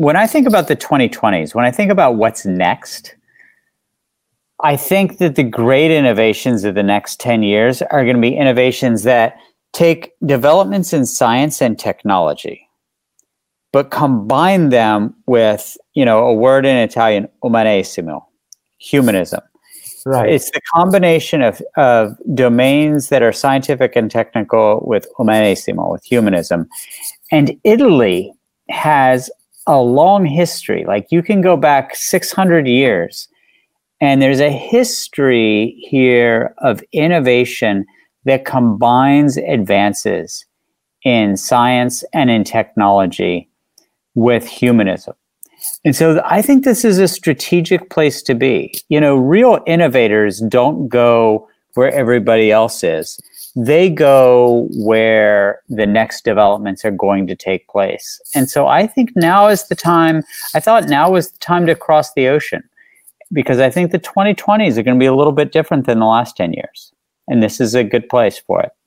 when I think about the 2020s, when I think about what's next, I think that the great innovations of the next 10 years are going to be innovations that take developments in science and technology, but combine them with, a word in Italian, umanesimo, humanism. Right. It's the combination of domains that are scientific and technical with umanesimo, with humanism. And Italy has a long history. Like, you can go back 600 years, and there's a history here of innovation that combines advances in science and in technology with humanism. And so I think this is a strategic place to be. Real innovators don't go where everybody else is. They go where the next developments are going to take place. And so I think now was the time to cross the ocean, because I think the 2020s are going to be a little bit different than the last 10 years. And this is a good place for it.